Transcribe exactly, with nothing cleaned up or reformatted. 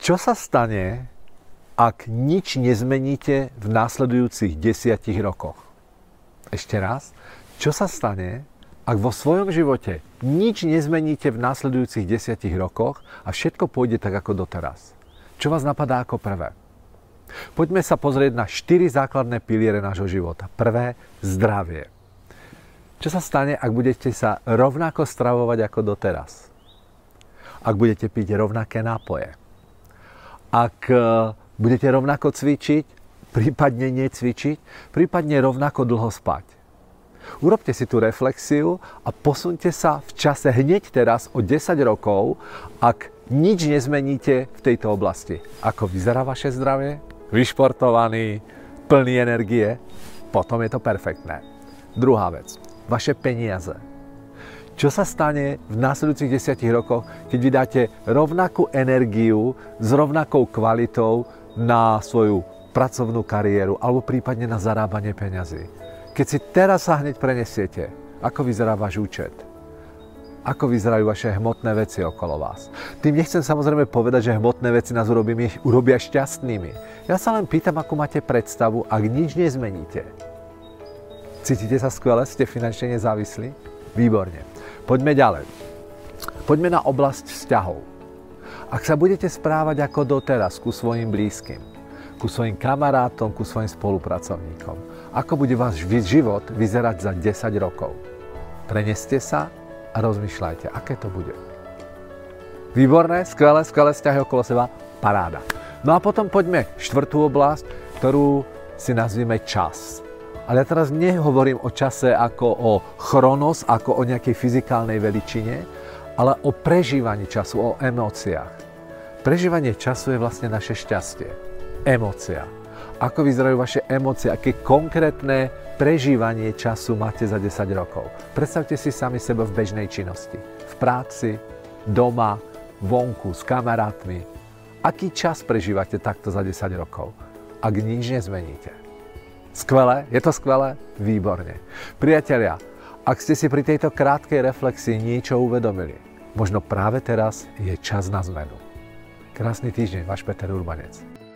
Čo sa stane, ak nič nezmeníte v následujúcich desiatich rokoch? Ešte raz, čo sa stane, ak vo svojom živote nič nezmeníte v následujúcich desiatich rokoch a všetko pôjde tak ako doteraz? Čo vás napadá ako prvé? Poďme sa pozrieť na štyri základné piliere nášho života. Prvé, zdravie. Čo sa stane, ak budete sa rovnako stravovať ako doteraz? Ak budete piť rovnaké nápoje? Ak budete rovnako cvičiť, prípadne necvičiť, prípadne rovnako dlho spať? Urobte si tú reflexiu a posuňte sa v čase hneď teraz o desať rokov, ak nič nezmeníte v tejto oblasti. Ako vyzerá vaše zdravie? Vyšportovaný, plný energie? Potom je to perfektné. Druhá vec. Vaše peniaze. Čo sa stane v následujúcich desiatich rokoch, keď vydáte rovnakú energiu s rovnakou kvalitou na svoju pracovnú kariéru alebo prípadne na zarábanie peňazí? Keď si teraz sa hneď prenesiete, ako vyzerá váš účet? Ako vyzerajú vaše hmotné veci okolo vás? Tým nechcem samozrejme povedať, že hmotné veci nás urobia, urobia šťastnými. Ja sa len pýtam, ako máte predstavu, ak nič nezmeníte. Cítite sa skvele? Ste finančne nezávislí? Výborne. Poďme ďalej. Poďme na oblasť vzťahov. Ak sa budete správať ako doteraz ku svojim blízkym, ku svojim kamarátom, ku svojim spolupracovníkom, ako bude váš život vyzerať za desať rokov? Preneste sa a rozmýšľajte, aké to bude. Výborné, skvelé, skvelé vzťahy okolo seba, paráda. No a potom poďme štvrtú oblasť, ktorú si nazvime čas. Ale ja teraz nehovorím o čase ako o chronos, ako o nejakej fyzikálnej veličine, ale o prežívaní času, o emóciách. Prežívanie času je vlastne naše šťastie. Emócia. Ako vyzerajú vaše emócie, aké konkrétne prežívanie času máte za desať rokov. Predstavte si sami seba v bežnej činnosti. V práci, doma, vonku, s kamarátmi. Aký čas prežívate takto za desať rokov, ak nič nezmeníte? Skvelé? Je to skvelé? Výborne. Priatelia, ak ste si pri tejto krátkej reflexii niečo uvedomili, možno práve teraz je čas na zmenu. Krásny týždeň, váš Peter Urbanec.